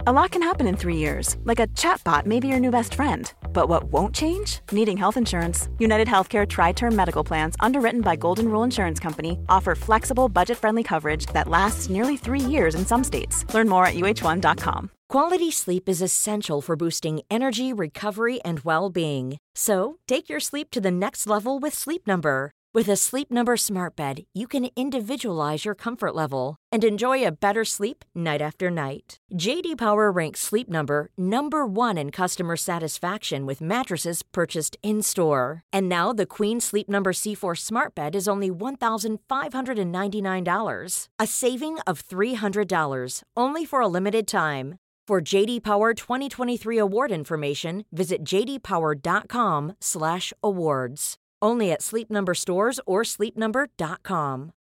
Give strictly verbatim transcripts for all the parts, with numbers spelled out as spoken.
A lot can happen in three years, like a chatbot may be your new best friend. But what won't change? Needing health insurance. United Healthcare Tri-Term Medical Plans, underwritten by Golden Rule Insurance Company, offer flexible, budget-friendly coverage that lasts nearly three years in some states. Learn more at U H one dot com. Quality sleep is essential for boosting energy, recovery, and well-being. So, take your sleep to the next level with Sleep Number. With a Sleep Number smart bed, you can individualize your comfort level and enjoy a better sleep night after night. J D Power ranks Sleep Number number one in customer satisfaction with mattresses purchased in-store. And now the Queen Sleep Number C four smart bed is only one thousand five hundred ninety-nine dollars, a saving of three hundred dollars, only for a limited time. For J D Power twenty twenty-three award information, visit j d power dot com slash awards. Only at Sleep Number stores or sleep number dot com.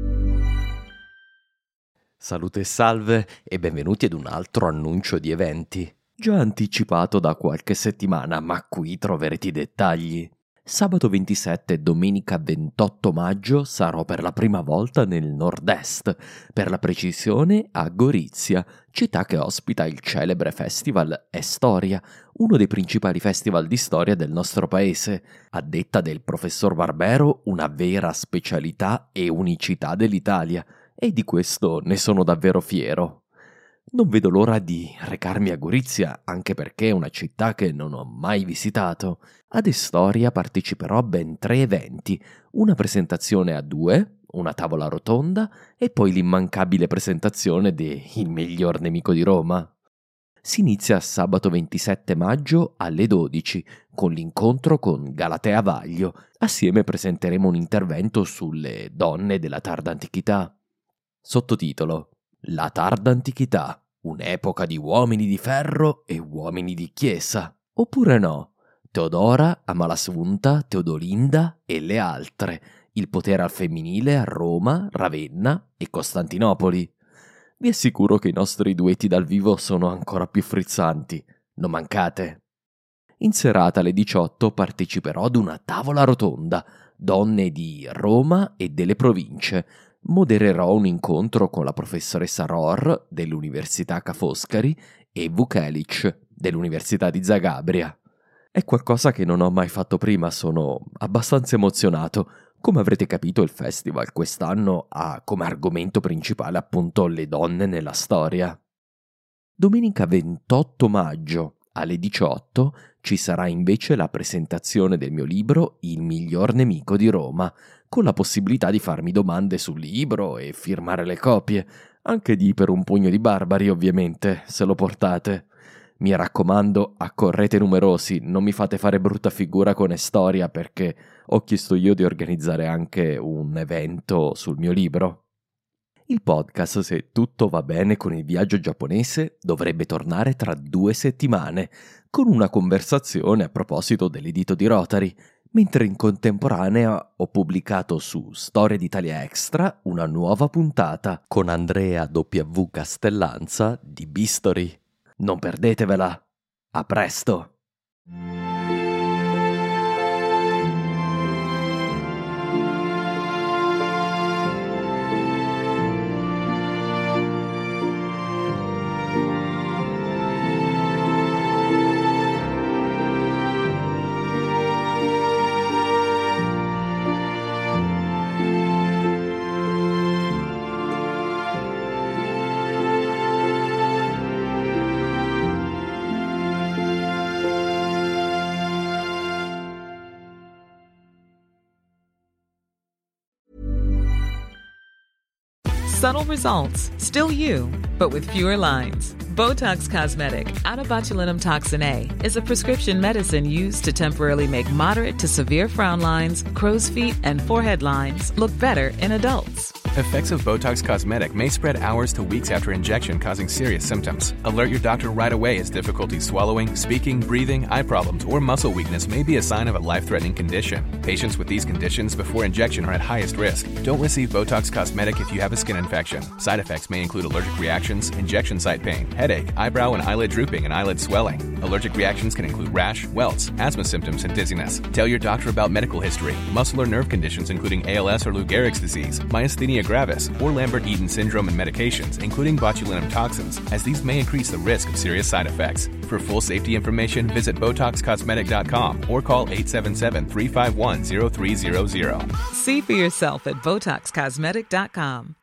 Salute e salve e benvenuti ad un altro annuncio di eventi, già anticipato da qualche settimana, ma qui troverete i dettagli. Sabato ventisette e domenica ventotto maggio sarò per la prima volta nel nord-est, per la precisione a Gorizia, città che ospita il celebre festival Storia, uno dei principali festival di storia del nostro paese, a detta del professor Barbero una vera specialità e unicità dell'Italia, e di questo ne sono davvero fiero. Non vedo l'ora di recarmi a Gorizia, anche perché è una città che non ho mai visitato. Ad Storia parteciperò a ben tre eventi, una presentazione a due, una tavola rotonda e poi l'immancabile presentazione de Il miglior nemico di Roma. Si inizia sabato ventisette maggio alle dodici con l'incontro con Galatea Vaglio. Assieme presenteremo un intervento sulle donne della tarda antichità. Sottotitolo: La tarda antichità, un'epoca di uomini di ferro e uomini di chiesa. Oppure no? Teodora, Amalasuntha, Teodolinda e le altre. Il potere al femminile a Roma, Ravenna e Costantinopoli. Vi assicuro che i nostri duetti dal vivo sono ancora più frizzanti. Non mancate. In serata alle diciotto parteciperò ad una tavola rotonda, donne di Roma e delle province. Modererò un incontro con la professoressa Rohr dell'Università Ca' Foscari e Vukelic dell'Università di Zagabria. È qualcosa che non ho mai fatto prima, sono abbastanza emozionato. Come avrete capito, il festival quest'anno ha come argomento principale appunto le donne nella storia. Domenica ventotto maggio alle diciotto ci sarà invece la presentazione del mio libro Il miglior nemico di Roma, con la possibilità di farmi domande sul libro e firmare le copie, anche di per un pugno di barbari ovviamente, se lo portate. Mi raccomando, accorrete numerosi, non mi fate fare brutta figura con Storia perché ho chiesto io di organizzare anche un evento sul mio libro. Il podcast, se tutto va bene con il viaggio giapponese, dovrebbe tornare tra due settimane, con una conversazione a proposito dell'edito di Rotary, mentre in contemporanea ho pubblicato su Storia d'Italia Extra una nuova puntata con Andrea W. Castellanza di Bistory. Non perdetevela! A presto! Subtle results, still you, but with fewer lines. Botox Cosmetic, out of botulinum toxin A, is a prescription medicine used to temporarily make moderate to severe frown lines, crow's feet, and forehead lines look better in adults. Effects of Botox Cosmetic may spread hours to weeks after injection, causing serious symptoms. Alert your doctor right away as difficulty swallowing, speaking, breathing, eye problems, or muscle weakness may be a sign of a life-threatening condition. Patients with these conditions before injection are at highest risk. Don't receive Botox Cosmetic if you have a skin infection. Side effects may include allergic reactions, injection site pain, headache, eyebrow and eyelid drooping, and eyelid swelling. Allergic reactions can include rash, welts, asthma symptoms, and dizziness. Tell your doctor about medical history, muscle or nerve conditions including A L S or Lou Gehrig's disease, myasthenia myasthenia gravis, or Lambert-Eaton syndrome and medications, including botulinum toxins, as these may increase the risk of serious side effects. For full safety information, visit Botox Cosmetic dot com or call eight seven seven, three five one, zero three zero zero. See for yourself at Botox Cosmetic dot com.